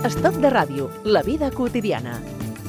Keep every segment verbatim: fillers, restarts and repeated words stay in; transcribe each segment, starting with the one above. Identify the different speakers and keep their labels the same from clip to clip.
Speaker 1: Estat de ràdio, la vida quotidiana.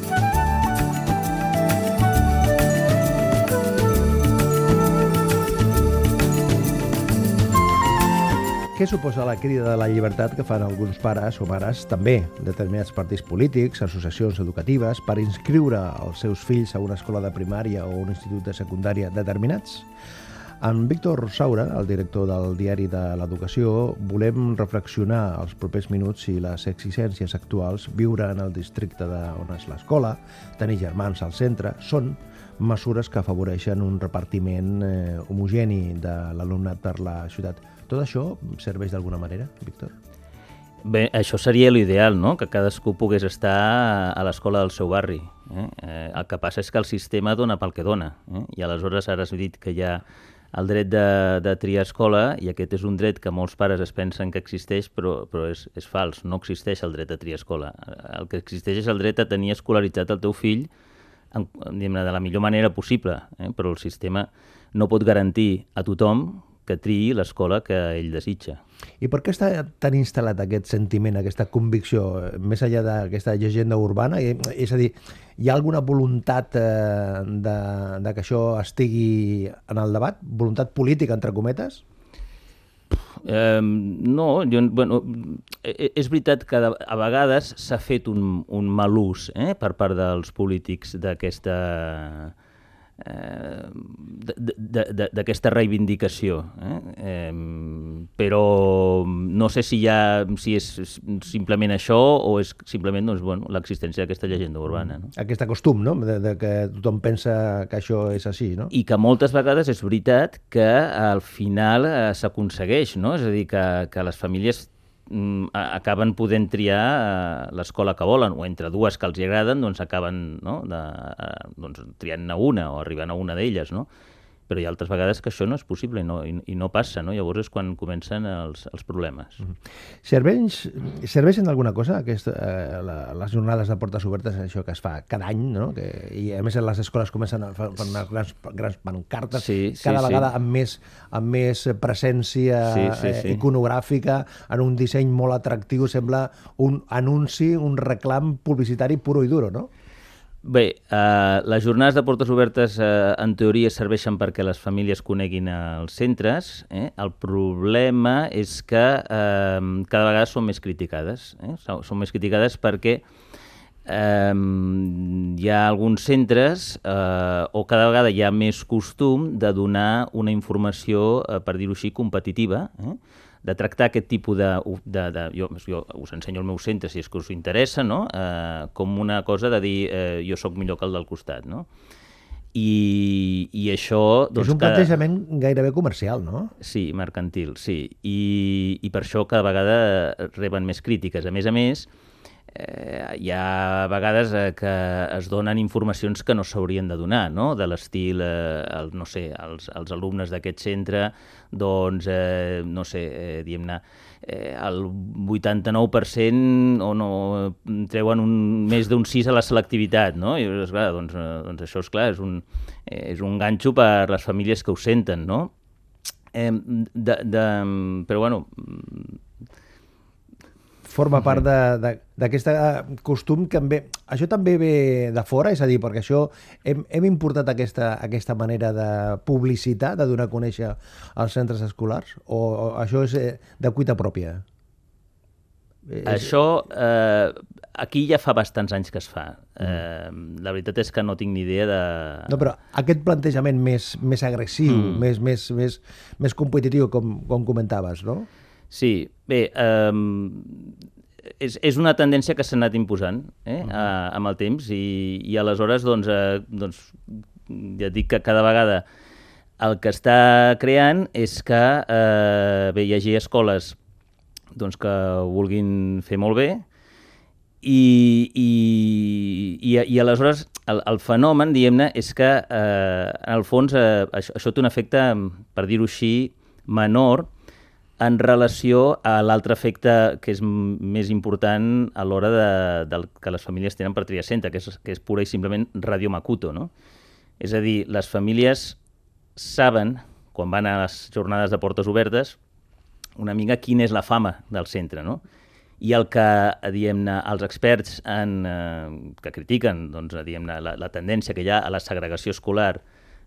Speaker 2: Què suposa la crida de la llibertat que fan alguns pares o mares, també determinats partits polítics, associacions educatives, per inscriure els seus fills a una escola de primària o un institut de secundària determinats? En Víctor Saura, el director del Diari de l'Educació, volem reflexionar els propers minuts si les exigències actuals, viure en el districte on és l'escola, tenir germans al centre, són mesures que afavoreixen un repartiment eh, homogeni de l'alumnat per la ciutat. Tot això serveix d'alguna manera, Víctor?
Speaker 3: Bé, això seria l'ideal, no? Que cadascú pogués estar a l'escola del seu barri. Eh? Eh, el que passa és que el sistema dona pel que dona. Eh? I aleshores ara has dit que hi ha el dret de, de triar escola, i aquest és un dret que molts pares es pensen que existeix, però, però és, és fals. No existeix el dret de triar escola. El que existeix és el dret a tenir escolaritzat el teu fill en, de la millor manera possible, eh? Però el sistema no pot garantir a tothom que triï l'escola que ell desitja.
Speaker 2: I per què està tan instal·lat aquest sentiment, aquesta convicció, més enllà d'aquesta llegenda urbana? És a dir, hi ha alguna voluntat eh, de, de que això estigui en el debat? Voluntat política, entre cometes?
Speaker 3: Eh, no, jo, bueno, és veritat que a vegades s'ha fet un, un mal ús eh, per part dels polítics d'aquesta... Eh, d'aquesta reivindicació, eh? Eh, però no sé si, ha, si és simplement això o és simplement doncs, bueno, l'existència d'aquesta llegenda urbana. No?
Speaker 2: Aquest costum, no? De, de que tothom pensa que això és així, no?
Speaker 3: I que moltes vegades és veritat que al final eh, s'aconsegueix, no? És a dir, que, que les famílies acaben podent triar l'escola que volen, o entre dues que els agraden, doncs acaben no, de, doncs, triant-ne una o arribant a una d'elles, no? Però hi ha altres vegades que això no és possible i no, i, i no passa, no? Llavors és quan comencen els, els problemes.
Speaker 2: Mm-hmm. Serveix, serveixen d'alguna cosa aquesta, eh, la, les jornades de portes obertes, això que es fa cada any, no? Que, i a més les escoles comencen a fer unes grans, grans pancartes, sí, cada sí, vegada sí. amb, més, amb més presència sí, sí, sí. Eh, iconogràfica, en un disseny molt atractiu, sembla un anunci, un reclam publicitari puro i duro, no?
Speaker 3: Bé, eh, les jornades de portes obertes eh, en teoria serveixen perquè les famílies coneguin els centres. Eh? El problema és que eh, cada vegada són més criticades. Eh? Són més criticades perquè eh, hi ha alguns centres eh, o cada vegada hi ha més costum de donar una informació, eh, per dir-ho així, competitiva, eh? de tractar aquest tipus de... de, de jo, jo us ensenyo el meu centre, si és que us interessa, no? eh, com una cosa de dir eh, jo sóc millor que el del costat. No? I, i això...
Speaker 2: Doncs, és un plantejament cada... gairebé comercial, no?
Speaker 3: Sí, mercantil, sí. I, i per això cada vegada reben més crítiques. A més a més, eh, hi ha vegades eh, que es donen informacions que no s'haurien de donar, no? De l'estil, eh, el, no sé, els, els alumnes d'aquest centre, doncs, eh, no sé, eh, diguem-ne, eh, el vuitanta-nou per cent o no treuen un, més d'un sis a la selectivitat, no? I esclar, doncs, eh, doncs això, esclar, és un, eh, és un ganxo per les famílies que ho senten, no? Eh, de, de, però, bueno...
Speaker 2: forma part d'aquest costum que ve... Això també ve de fora, és a dir, perquè això hem, hem importat aquesta, aquesta manera de publicitar, de donar a conèixer als centres escolars, o, o això és de cuita pròpia?
Speaker 3: Això, eh, aquí ja fa bastants anys que es fa. Eh, la veritat és que no tinc ni idea de...
Speaker 2: No, però aquest plantejament més, més agressiu, mm. més, més, més, més competitiu, com, com comentaves, no?
Speaker 3: Sí, bé, eh, és, és una tendència que s'ha anat imposant eh, uh-huh. a, amb el temps i, i aleshores doncs, eh, doncs, ja et dic que cada vegada el que està creant és que eh, bé, hi hagi escoles doncs, que ho vulguin fer molt bé i, i, i, i aleshores el, el fenomen, diguem-ne, és que eh, en el fons eh, això, això té un efecte, per dir-ho així, menor en relació a l'altre efecte que és més important a l'hora de, de, que les famílies tenen per triar centre, que és, que és pura i simplement Radio Makuto, no? És a dir, les famílies saben, quan van a les jornades de portes obertes, una mica quina és la fama del centre, no? I el que, diguem-ne, els experts en, eh, que critiquen doncs, diguem-ne, la, la tendència que hi ha a la segregació escolar,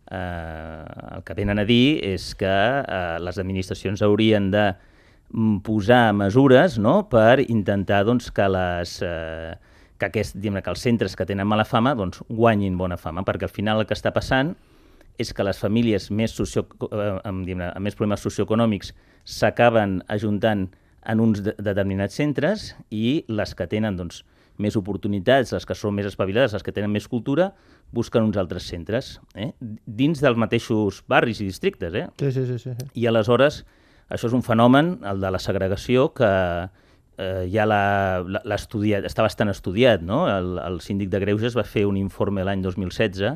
Speaker 3: eh, el que venen a dir és que eh, les administracions haurien de posar mesures, no?, per intentar doncs, que, les, eh, que, aquest, diguem-ne, que els centres que tenen mala fama doncs, guanyin bona fama, perquè al final el que està passant és que les famílies més socio, eh, amb, diguem-ne, amb més problemes socioeconòmics s'acaben ajuntant en uns de determinats centres i les que tenen doncs, més oportunitats, les que són més espavilades, les que tenen més cultura, busquen uns altres centres, eh? dins dels mateixos barris i districtes. Eh?
Speaker 2: Sí, sí, sí, sí.
Speaker 3: I aleshores, això és un fenomen, el de la segregació, que eh, ja l'ha estudiat, està bastant estudiat. No? El, el síndic de Greuges va fer un informe l'any dos mil setze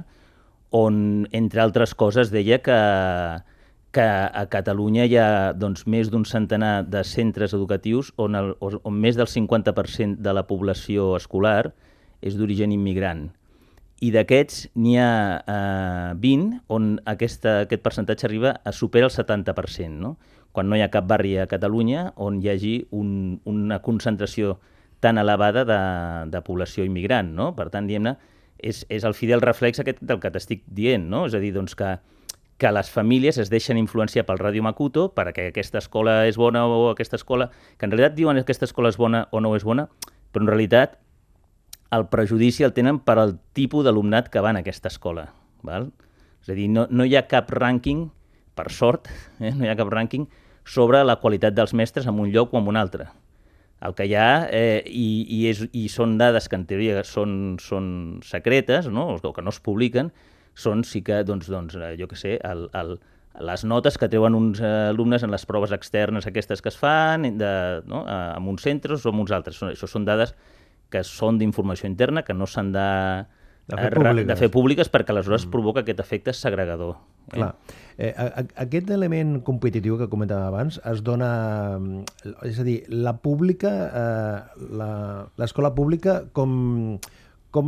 Speaker 3: on, entre altres coses, deia que, que a Catalunya hi ha doncs, més d'un centenar de centres educatius on, el, on més del cinquanta per cent de la població escolar és d'origen immigrant. I d'aquests n'hi ha eh, vint on aquesta, aquest percentatge arriba a supera el setanta per cent, no? Quan no hi ha cap barri a Catalunya on hi hagi un, una concentració tan elevada de, de població immigrant. No? Per tant, diguem-ne, és, és el fidel reflex aquest del que t'estic dient, no? És a dir, doncs que, que les famílies es deixen influenciar pel Ràdio Makuto perquè aquesta escola és bona o aquesta escola... que en realitat diuen que aquesta escola és bona o no és bona, però en realitat el prejudici el tenen per al tipus d'alumnat que va en aquesta escola. Val? És a dir, no, no hi ha cap rànquing, per sort, eh? no hi ha cap rànquing sobre la qualitat dels mestres en un lloc o en un altre. El que hi ha, eh, i, i, és, i són dades que en teoria són, són secretes, no? o que no es publiquen, són sí que, doncs, doncs jo què sé, el, el, les notes que treuen uns alumnes en les proves externes aquestes que es fan, de, no? en uns centres o en uns altres. Això són dades que són d'informació interna, que no s'han de,
Speaker 2: de, fer públiques.
Speaker 3: de fer públiques perquè aleshores mm. provoca aquest efecte segregador. Eh?
Speaker 2: Clar. Eh, a, a, aquest element competitiu que comentàvem abans es dona... És a dir, la pública, eh, l'escola pública com... Com,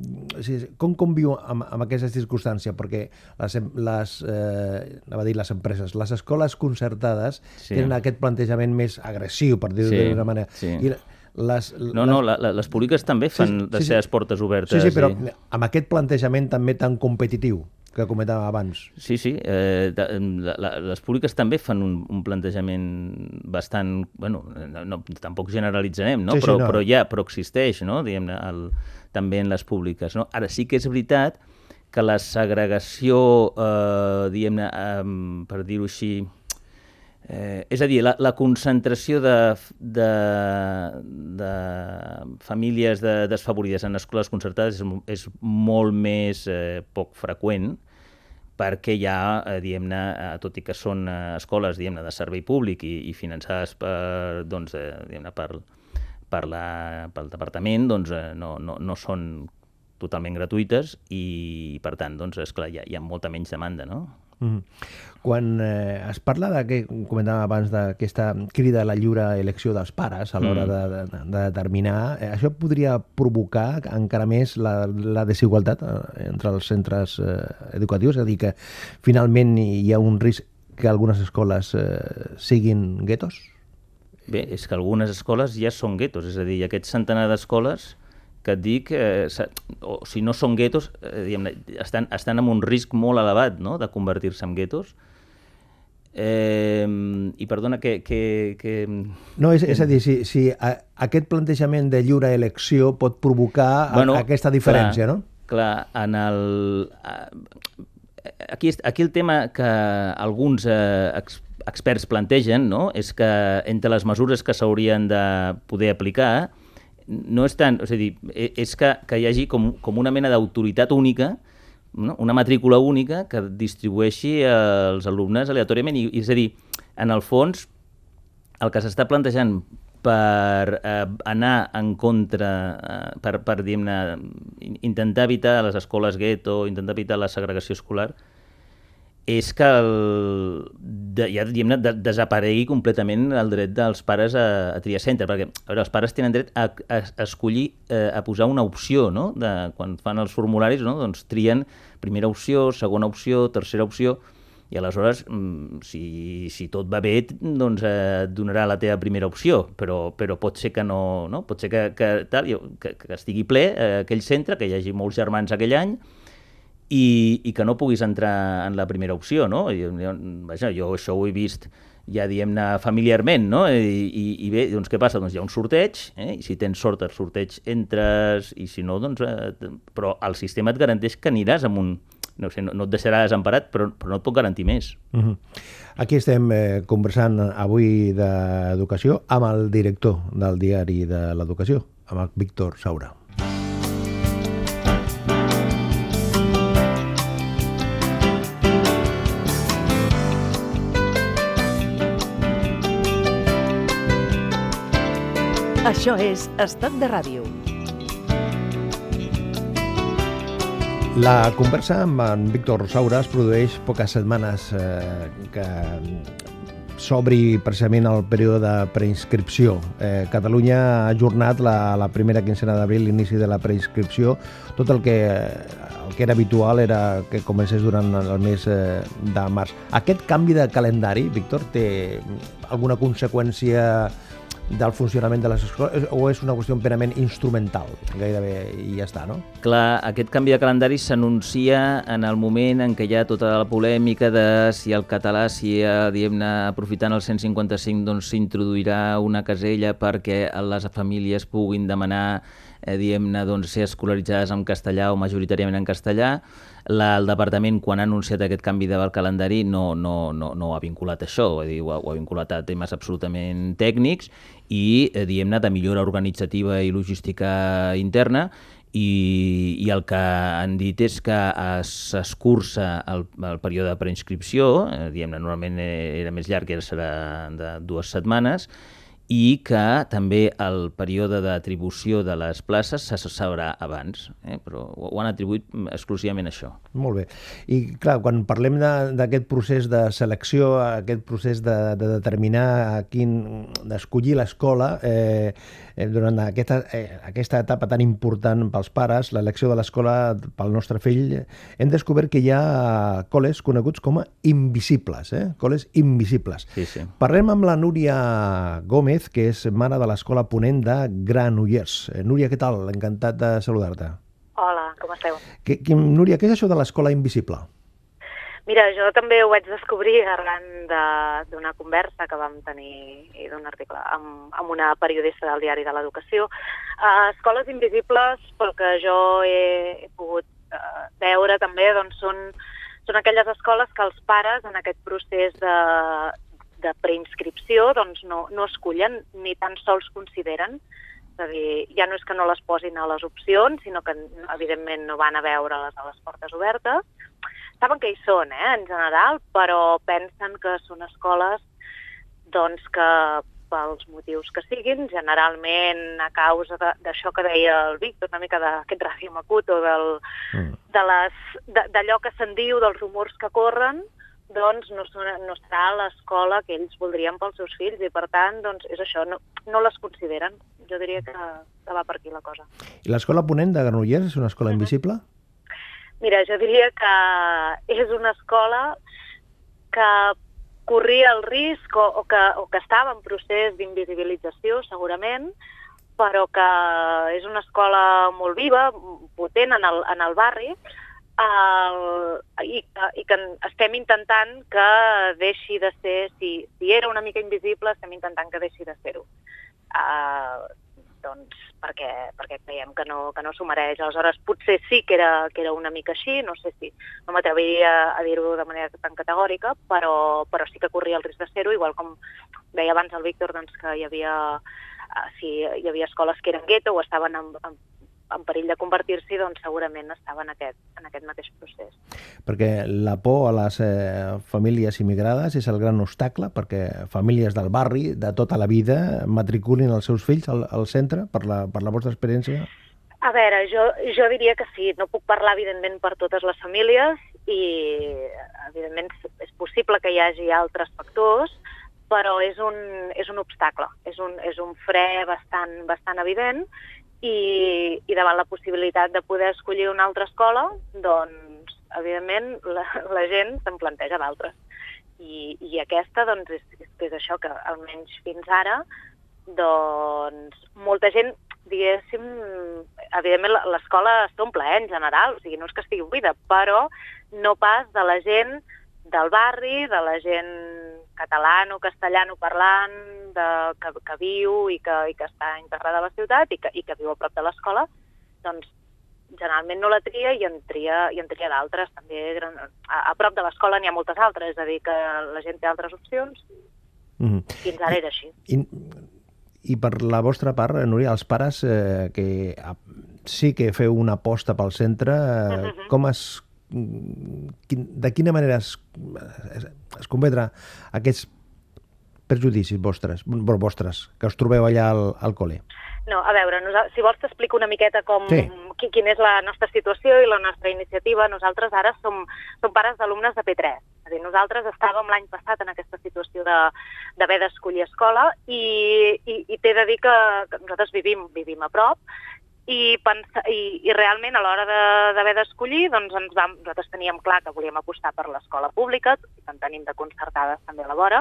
Speaker 2: com conviu amb, amb aquesta circumstància? Perquè les, les, eh, anava a dir les empreses, les escoles concertades sí. tenen aquest plantejament més agressiu, per dir-ho sí, d'una manera. Sí. I les,
Speaker 3: no, no, les... La, les públiques també fan sí, les sí, seves portes obertes.
Speaker 2: Sí, sí, però i... amb aquest plantejament també tan competitiu que comentàvem abans.
Speaker 3: Sí, sí. Eh, la, la, les públiques també fan un, un plantejament bastant... Bueno, no, no, tampoc generalitzarem, no?
Speaker 2: Sí,
Speaker 3: però,
Speaker 2: sí, no.
Speaker 3: però ja, però existeix, no? Diguem-ne, el, també en les públiques. No? Ara sí que és veritat que la segregació, eh, diguem-ne, eh, per dir-ho així, eh, és a dir, la, la concentració de, de, de famílies de, desfavorides en escoles concertades és, és molt més eh, poc freqüent, perquè hi ha, eh, diguem-ne, eh, tot i que són eh, escoles, diguem-ne, de servei públic i, i finançades per, doncs, eh, diguem-ne, per, per la, pel departament, doncs eh, no, no, no són totalment gratuïtes i, per tant, doncs, esclar, hi ha, hi ha molta menys demanda, no?
Speaker 2: Mm-hmm. Quan eh, es parla de, que comentàvem abans, d'aquesta crida a la lliure elecció dels pares a l'hora mm. de, de, de determinar, eh, això podria provocar encara més la, la desigualtat eh, entre els centres eh, educatius, és a dir, que finalment hi ha un risc que algunes escoles eh, siguin guetos?
Speaker 3: Bé, és que algunes escoles ja són guetos, és a dir, aquest centenar d'escoles que et dic, eh, o si no són guetos, eh, diguem, estan, estan amb un risc molt elevat, no?, de convertir-se en guetos. Eh, I perdona, que... que, que
Speaker 2: no, és, és a dir, si, si a, aquest plantejament de lliure elecció pot provocar bueno, a, aquesta diferència,
Speaker 3: clar,
Speaker 2: no?
Speaker 3: Clar, en el... Aquí, aquí el tema que alguns eh, ex, experts plantegen, no?, és que entre les mesures que s'haurien de poder aplicar no és tant, és a dir, és que, que hi hagi com, com una mena d'autoritat única, no? Una matrícula única que distribueixi els alumnes aleatòriament. I, és a dir, en el fons, el que s'està plantejant per eh, anar en contra, eh, per, per diguem-ne, intentar evitar les escoles gueto, intentar evitar la segregació escolar, és que el, de, ja diguem-ne, de, desaparegui completament el dret dels pares a, a triar centre, perquè a veure, els pares tenen dret a, a, a escollir, eh, a posar una opció, no? De, quan fan els formularis, no? Doncs trien primera opció, segona opció, tercera opció, I aleshores, si, si tot va bé, doncs eh, et donarà la teva primera opció, però, però pot ser que no, no? Pot ser que, que, tal, que, que estigui ple eh, aquell centre, que hi hagi molts germans aquell any, i, i que no puguis entrar en la primera opció, no? I, vaja, jo això ho he vist ja, diguem-ne, familiarment, no? I, i, i bé, doncs què passa? Doncs hi ha un sorteig, eh? I si tens sort al sorteig entres, i si no, doncs... Eh, però el sistema et garanteix que aniràs amb un... No sé, no, no et deixarà desemparat, però, però no et pot garantir més.
Speaker 2: Uh-huh. Aquí estem eh, conversant avui d'educació amb el director del Diari de l'Educació, amb el Víctor Saura.
Speaker 1: Això és Estat de Ràdio.
Speaker 2: La conversa amb en Víctor Saura es produeix poques setmanes eh, que s'obri precisament el període de preinscripció. Eh, Catalunya ha ajornat la, la primera quincena d'abril l'inici de la preinscripció. Tot el que, el que era habitual era que comencés durant el mes eh, de març. Aquest canvi de calendari, Víctor, té alguna conseqüència del funcionament de les escoles o és una qüestió plenament instrumental, gairebé, i ja està, no?
Speaker 3: Clar, aquest canvi de calendari s'anuncia en el moment en què hi ha tota la polèmica de si el català, si, diguem-ne, aprofitant el cent cinquanta-cinc, doncs s'introduirà una casella perquè les famílies puguin demanar eh, diguem-ne, doncs, ser escolaritzades en castellà o majoritàriament en castellà. La, el departament, quan ha anunciat aquest canvi de calendari, no, no, no, no ha vinculat això, ho ha, ho ha vinculat a temes absolutament tècnics i, eh, diguem-ne, de millora organitzativa i logística interna, i, i el que han dit és que s'escurça el, el període de preinscripció, eh, diguem-ne, normalment era més llarg, ara serà de dues setmanes, i que també el període d'atribució de les places se sabrà abans, eh? Però ho han atribuït exclusivament a això.
Speaker 2: Molt bé. I clar, quan parlem d'aquest procés de selecció, aquest procés de, de determinar a quin, d'escollir l'escola, eh, durant aquesta, eh, aquesta etapa tan important pels pares, l'elecció de l'escola pel nostre fill, hem descobert que hi ha col·les coneguts com a invisibles, eh? Col·les invisibles.
Speaker 3: Sí, sí.
Speaker 2: Parlem amb la Núria Gómez, que és mare de l'Escola Ponent de Granollers. Eh, Núria, què tal? Encantat de saludar-te.
Speaker 4: Hola, com esteu?
Speaker 2: Que, que, Núria, què és això de l'Escola Invisible?
Speaker 4: Mira, jo també ho vaig descobrir arran d'una conversa que vam tenir i d'un article amb, amb una periodista del Diari de l'Educació. Uh, escoles invisibles, pel que jo he, he pogut uh, veure també, doncs són, són aquelles escoles que els pares en aquest procés de, de preinscripció doncs no, no escullen ni tan sols consideren. És a dir, ja no és que no les posin a les opcions, sinó que evidentment no van a veure-les a les portes obertes. Saben que hi són, eh, en general, però pensen que són escoles doncs, que pels motius que siguin, generalment a causa d'això que deia el Víctor, una mica d'aquest Ràdio Makuto, mm. d'allò que se'n diu, dels rumors que corren, doncs no, són, no serà l'escola que ells voldrien pels seus fills i, per tant, doncs, és això, no, no les consideren. Jo diria que, que va per aquí la cosa.
Speaker 2: I l'Escola Ponent de Granollers és una escola uh-huh. invisible?
Speaker 4: Mira, jo diria que és una escola que corria el risc o, o, que, o que estava en procés d'invisibilització, segurament, però que és una escola molt viva, potent en el, en el barri, el, i, i que estem intentant que deixi de ser, si, si era una mica invisible, estem intentant que deixi de ser-ho. Uh, doncs perquè, perquè creiem que no, que no s'ho mereix. Aleshores, potser sí que era, que era una mica així, no sé si no m'atreviria a dir-ho de manera tan categòrica, però, però sí que corria el risc de ser-ho, igual com deia abans el Víctor, doncs, que hi havia, uh, si hi havia escoles que eren gueto o estaven en, en, en perill de convertir-s'hi, doncs segurament estaven en aquest, en aquest mateix procés.
Speaker 2: Perquè la por a les eh, famílies immigrades és el gran obstacle perquè famílies del barri de tota la vida matriculin els seus fills al, al centre, per la, per la vostra experiència?
Speaker 4: A veure, jo, jo diria que sí. No puc parlar, evidentment, per totes les famílies i, evidentment, és possible que hi hagi altres factors, però és un, és un obstacle, és un, és un fre bastant, bastant evident. I, i davant la possibilitat de poder escollir una altra escola, doncs, evidentment, la, la gent se'n planteja d'altres. I, I aquesta, doncs, és, és, és això que, almenys fins ara, doncs, molta gent, diguéssim, evidentment l'escola s'omple, eh, en general, o sigui, no és que estigui buida, però no pas de la gent del barri, de la gent catalano, castellano parlant, de, que, que viu i que, i que està integrada a la ciutat i que, i que viu a prop de l'escola, doncs generalment no la tria i en tria, i en tria d'altres. També a, a prop de l'escola n'hi ha moltes altres, és a dir, que la gent té altres opcions. Mm-hmm. Fins ara era així.
Speaker 2: I, I per la vostra part, Núria, els pares eh, que sí que feu una aposta pel centre, eh, mm-hmm. com es de quina manera es, es, es combatra aquests prejudicis vostres, vostres, que us trobeu allà al, al col·le?
Speaker 4: No, a veure, si vols t'explico una miqueta com, sí. quina és la nostra situació i la nostra iniciativa. Nosaltres ara som, som pares d'alumnes de P tres. És a dir, nosaltres estàvem l'any passat en aquesta situació d'haver d'escollir escola i, i, i t'he de dir que, que nosaltres vivim, vivim a prop. I, pensa, i, i realment a l'hora d'haver de, d'escollir, doncs ens vam, nosaltres teníem clar que volíem apostar per l'escola pública, i en tenim de concertades també a la vora,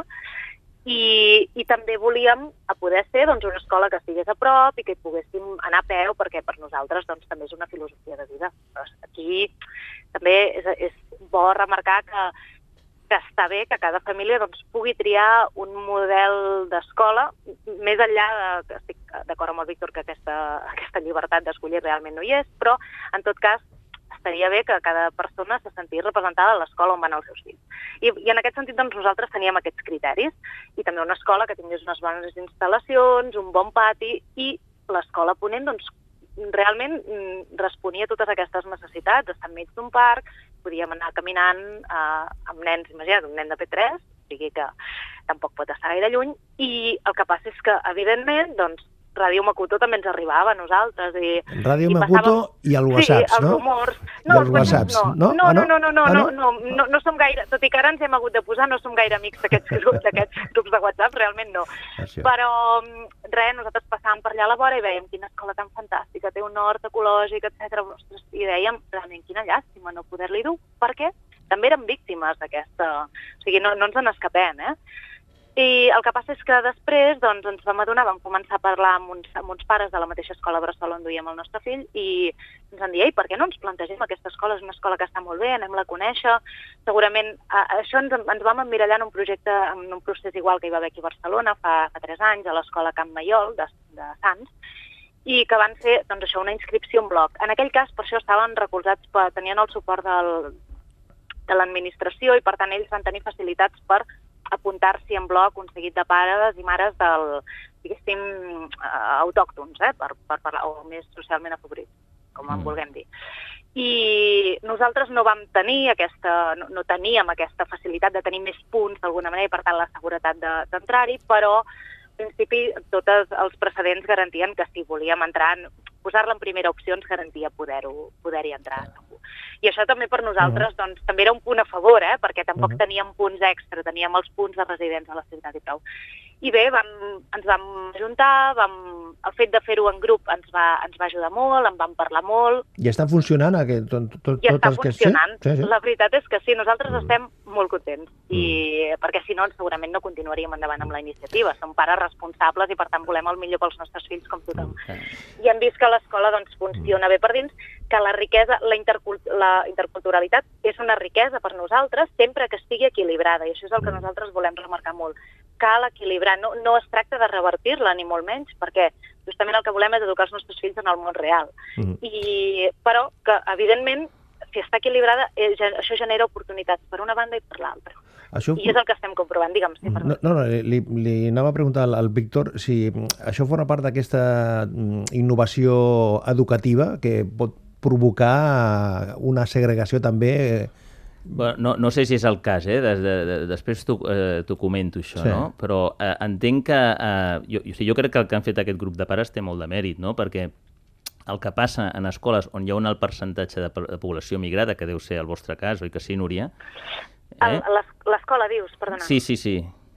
Speaker 4: i, i també volíem a poder ser doncs, una escola que estigués a prop i que hi poguéssim anar a peu, perquè per nosaltres doncs, també és una filosofia de vida. Aquí també és, és bo remarcar que que està bé que cada família doncs, pugui triar un model d'escola, més enllà de que estic d'acord amb el Víctor que aquesta, aquesta llibertat d'escollir realment no hi és, però en tot cas estaria bé que cada persona se sentís representada a l'escola on van els seus fills. I, i en aquest sentit doncs, nosaltres teníem aquests criteris i també una escola que tingués unes bones instal·lacions, un bon pati i l'escola Ponent doncs, realment responia a totes aquestes necessitats, està enmig d'un parc, podíem anar caminant eh, amb nens, imagina't, un nen de P tres, o sigui que tampoc pot estar gaire lluny, i el que passa és que, evidentment, doncs, Ràdio Macuto també ens arribava a nosaltres. I,
Speaker 2: Ràdio
Speaker 4: i
Speaker 2: Macuto
Speaker 4: passàvem...
Speaker 2: i el WhatsApp,
Speaker 4: sí,
Speaker 2: no?
Speaker 4: els rumors.
Speaker 2: No, I els WhatsApps,
Speaker 4: no? No, no, no, no, no,
Speaker 2: ah,
Speaker 4: no, no, no, no, no som gaire, tot i que ara ens hem hagut de posar, no som gaire amics d'aquests grups, d'aquests grups de WhatsApp, realment no. Això. Però, res, nosaltres passàvem per allà a la vora i veiem quina escola tan fantàstica, té un hort ecològic, etcètera. I dèiem, realment, quina llàstima no poder-li dur, perquè també érem víctimes d'aquesta... O sigui, no, no ens en escapem, eh? I el que passa és que després doncs, ens vam adonar, vam començar a parlar amb uns, amb uns pares de la mateixa escola Bressol on duíem el nostre fill i ens van dir, ei, per què no ens plantegem aquesta escola? És una escola que està molt bé, anem-la a conèixer. Segurament a, això ens, ens vam emmirallar en un projecte, en un procés igual que hi va haver aquí a Barcelona fa, fa tres anys, a l'escola Camp Maiol de, de Sants, i que van fer doncs, això, una inscripció en bloc. En aquell cas, per això estaven recolzats, per, tenien el suport del, de l'administració i per tant ells van tenir facilitats per apuntar-s'hi en bloc un seguit de pares i mares del, diguéssim, autòctons, eh, per, per parlar, o més socialment afavorits, com en vulguem dir. I nosaltres no vam tenir aquesta, no, no teníem aquesta facilitat de tenir més punts d'alguna manera i per tant la seguretat d'entrar-hi, però en principi tots els precedents garantien que si volíem entrar, posar-la en primera opció ens garantia poder-ho poder-hi entrar. I això també per nosaltres uh-huh. doncs, també era un punt a favor, eh? Perquè tampoc uh-huh. teníem punts extra, teníem els punts de residents a la ciutat i prou. I bé, vam, ens vam ajuntar, vam, el fet de fer-ho en grup ens va, ens va ajudar molt, en vam parlar molt.
Speaker 2: I està funcionant? Aquest, tot, tot,
Speaker 4: I està
Speaker 2: tot
Speaker 4: funcionant.
Speaker 2: Que... Sí? Sí, sí.
Speaker 4: La veritat és que sí, nosaltres mm. estem molt contents, i mm. perquè si no segurament no continuaríem endavant amb la iniciativa. Som pares responsables i per tant volem el millor pels nostres fills com tothom. Okay. I hem vist que l'escola doncs, funciona mm. bé per dins, que la riquesa, la, intercult la interculturalitat és una riquesa per nosaltres sempre que estigui equilibrada, i això és el que nosaltres volem remarcar molt. Cal equilibrar, no, no es tracta de revertir-la, ni molt menys, perquè justament el que volem és educar els nostres fills en el món real. Mm. I, però que, evidentment, si està equilibrada, eh, això genera oportunitats per una banda i per l'altra. Això... I és el que estem comprovant, digue'm. Sí,
Speaker 2: no, no, no li, li anava a preguntar al, al Víctor si això forma part d'aquesta innovació educativa que pot provocar una segregació també...
Speaker 3: Bueno, no, no sé si és el cas, eh? Des, de, de, després t'ho eh, comento això, sí. no? Però eh, entenc que... Eh, jo, o sigui, jo crec que el que han fet aquest grup de pares té molt de mèrit, no? Perquè el que passa en escoles on hi ha un alt percentatge de, de població migrada, que deu ser el vostre cas, oi que sí, Núria?
Speaker 4: Eh? L'escola, dius, perdona.
Speaker 3: Sí, sí, sí.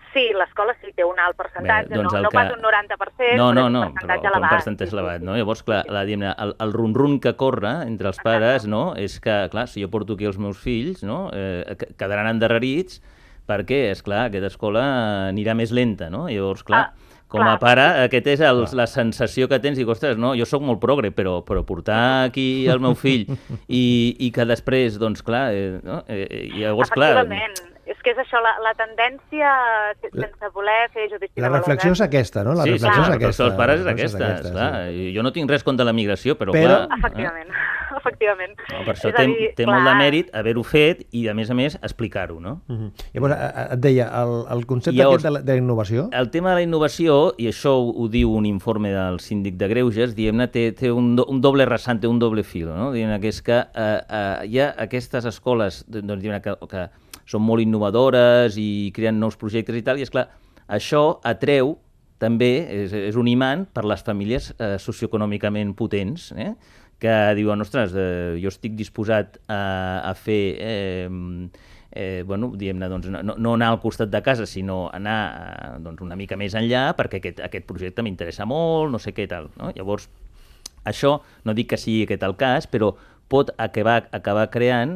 Speaker 4: Sí, l'escola sí té un alt percentatge,
Speaker 3: Bé, doncs
Speaker 4: no,
Speaker 3: el
Speaker 4: no
Speaker 3: que-
Speaker 4: pas un noranta per cent,
Speaker 3: No, no,
Speaker 4: però és
Speaker 3: no,
Speaker 4: un
Speaker 3: però,
Speaker 4: percentatge
Speaker 3: però un
Speaker 4: elevat.
Speaker 3: percentatge
Speaker 4: sí, sí,
Speaker 3: elevat,
Speaker 4: sí.
Speaker 3: no? Llavors, clar, la, diguem-ne, el, el run-run que corre entre els pares, no?, és que, clar, si jo porto aquí els meus fills, no?, eh, que- quedaran endarrerits perquè, és clar, aquesta escola anirà més lenta, no? Llavors, clar,
Speaker 4: Ah,
Speaker 3: com a
Speaker 4: clar,
Speaker 3: pare,
Speaker 4: sí.
Speaker 3: aquest és el, la sensació que tens, i dic, ostres, no, jo sóc molt progre, però, però portar aquí el meu fill i, i que després, doncs, clar, eh, no? eh, llavors, clar...
Speaker 4: Efectivament. És que és això, la, la tendència, sense voler fer judici de
Speaker 2: La
Speaker 4: valor,
Speaker 2: reflexió
Speaker 4: eh?
Speaker 2: és aquesta, no? La
Speaker 3: sí, sí,
Speaker 2: reflexió
Speaker 3: la
Speaker 2: és
Speaker 3: reflexió
Speaker 2: aquesta.
Speaker 3: dels pares és
Speaker 2: la reflexió
Speaker 3: aquesta, esclar.
Speaker 2: sí.
Speaker 3: Jo no tinc res contra la migració, però,
Speaker 2: Però-
Speaker 3: clar...
Speaker 4: Efectivament, efectivament.
Speaker 3: No, per això
Speaker 4: És a
Speaker 3: té,
Speaker 4: dir,
Speaker 3: té
Speaker 4: clar,
Speaker 3: molt de mèrit haver-ho fet i, a més a més, explicar-ho, no?
Speaker 2: Mhm. Llavors, a- a- et deia, el, el concepte
Speaker 3: Llavors-
Speaker 2: aquest de la, de la innovació...
Speaker 3: El tema de la innovació, i això ho, ho diu un informe del síndic de Greuges, diguem-ne, té, té un, do, un doble rasant, té un doble fil, no? Diguem-ne que és que eh, eh, hi ha aquestes escoles doncs, diguem-ne que, que són molt innovadores i creen nous projectes i tal, i és clar, això atreu també, és, és un imant per les famílies eh, socioeconòmicament potents, eh? Que diuen, ostres, eh, jo estic disposat a, a fer... Eh, eh, bueno, diguem-ne, doncs, no, no anar al costat de casa, sinó anar eh, doncs, una mica més enllà, perquè aquest, aquest projecte m'interessa molt, no sé què tal, no? Llavors, això, no dic que sigui aquest el cas, però pot acabar, acabar creant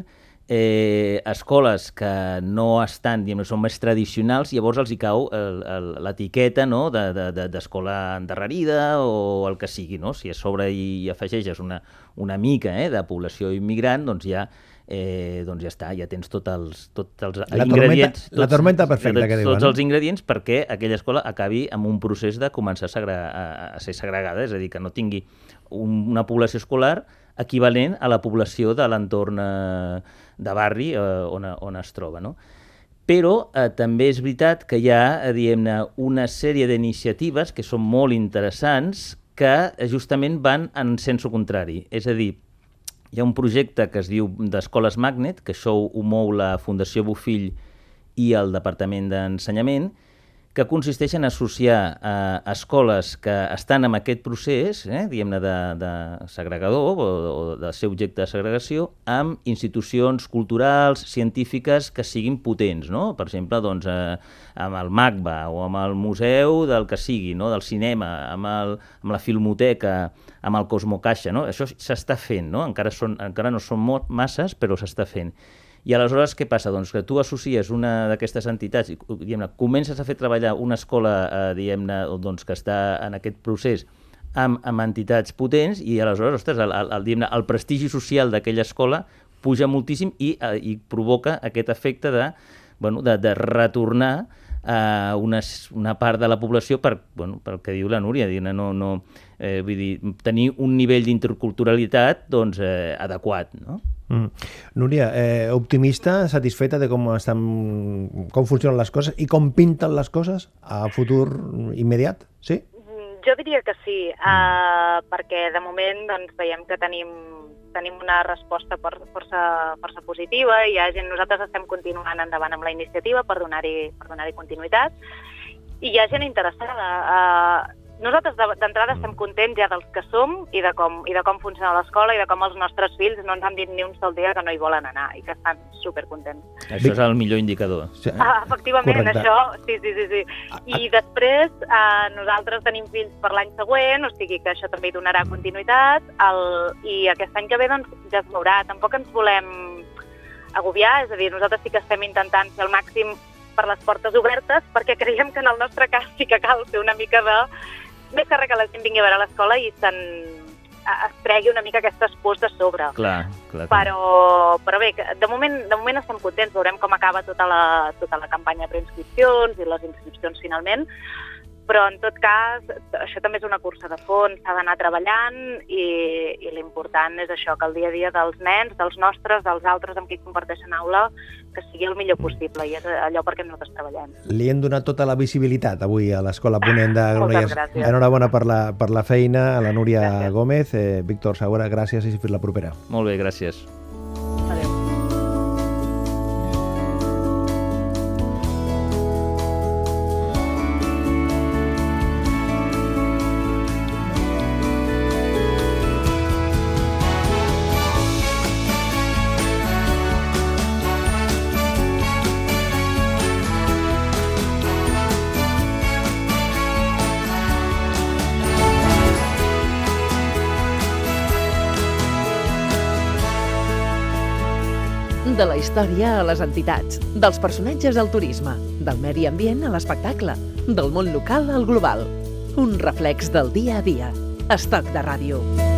Speaker 3: eh, escoles que no estan, diguem, són més tradicionals, i llavors els hi cau el- el- l'etiqueta, no?, de- de- de- d'escola endarrerida o el que sigui, no? Si a sobre hi afegeixes una, una mica eh, de població immigrant, doncs ja eh, doncs ja està, ja tens tots els, tots els
Speaker 2: La
Speaker 3: ingredients...
Speaker 2: tormenta- la tormenta perfecta,
Speaker 3: tots,
Speaker 2: que diuen,
Speaker 3: Tots
Speaker 2: no?
Speaker 3: els ingredients perquè aquella escola acabi amb un procés de començar a, segre, a, a ser segregada, és a dir, que no tingui un, una població escolar equivalent a la població de l'entorn eh, de barri eh, on, on es troba, no? Però eh, també és veritat que hi ha, eh, diguem-ne, una sèrie d'iniciatives que són molt interessants que eh, justament van en senso contrari. És a dir, hi ha un projecte que es diu d'Escoles Magnet, que això ho mou la Fundació Bofill i el Departament d'Ensenyament, que consisteix en associar eh, escoles que estan en aquest procés, eh, diguem-ne, de, de segregador o, o de ser objecte de segregació, amb institucions culturals, científiques que siguin potents, no? Per exemple, doncs, eh, amb el MACBA o amb el museu del que sigui, no? Del cinema, amb, el, amb la filmoteca, amb el Cosmocaixa, no? Això s'està fent, no? Encara, són, encara no són molt masses, però s'està fent. I aleshores què passa? Doncs que tu associes una d'aquestes entitats i diguem-ne, comences a fer treballar una escola eh, diguem-ne, doncs, que està en aquest procés amb, amb entitats potents i aleshores ostres, el, el, el, diguem-ne, el prestigi social d'aquella escola puja moltíssim i, eh, i provoca aquest efecte de, bueno, de, de retornar a una, una part de la població per, bueno, pel que diu la Núria, diguem-ne, no, no, eh, vull dir, tenir un nivell d'interculturalitat doncs, eh, adequat, no?
Speaker 2: Mm. Núria, eh, optimista, satisfeta de com estan, com funcionen les coses i com pinten les coses a futur immediat, sí?
Speaker 4: Jo diria que sí, uh, perquè de moment doncs, veiem que tenim, tenim una resposta for, força, força positiva i hi ha gent, nosaltres estem continuant endavant amb la iniciativa per donar-hi per donar-hi continuïtat i hi ha gent interessada. Uh, Nosaltres d'entrada estem contents ja dels que som i de com, i de com funciona l'escola i de com els nostres fills no ens han dit ni un sol dia que no hi volen anar i que estan supercontents.
Speaker 3: Això és el millor indicador.
Speaker 2: Sí.
Speaker 4: Ah, efectivament,
Speaker 2: Correcte.
Speaker 4: això, sí, sí, sí. sí. I després eh, nosaltres tenim fills per l'any següent, o sigui que això també hi donarà continuïtat el, i aquest any que ve doncs, ja es veurà. Tampoc ens volem agobiar, és a dir, nosaltres sí que estem intentant fer el màxim per les portes obertes perquè creiem que en el nostre cas sí que cal fer una mica de... més que res que la gent vingui a veure l'escola i se'n es tregui una mica aquestes pors de sobre.
Speaker 3: Clar, clar. clar.
Speaker 4: Però, però bé, de moment, de moment estem contents, veurem com acaba tota la, tota la campanya de preinscripcions i les inscripcions finalment, però en tot cas això també és una cursa de fons, s'ha d'anar treballant i, i l'important és això, que el dia a dia dels nens, dels nostres, dels altres amb qui comparteixen aula, que sigui el millor possible i és allò perquè nosaltres treballem.
Speaker 2: Li hem donat tota la visibilitat avui a l'Escola Ponent de Granollers.
Speaker 4: Moltes gràcies.
Speaker 2: Enhorabona per la, per la feina, a la Núria
Speaker 4: Gràcies.
Speaker 2: Gómez, eh, Víctor Segura, gràcies i fins la propera.
Speaker 3: Molt bé, gràcies.
Speaker 4: Adéu.
Speaker 1: De la història a les entitats, dels personatges al turisme, del medi ambient a l'espectacle, del món local al global. Un reflex del dia a dia. Estoc de ràdio.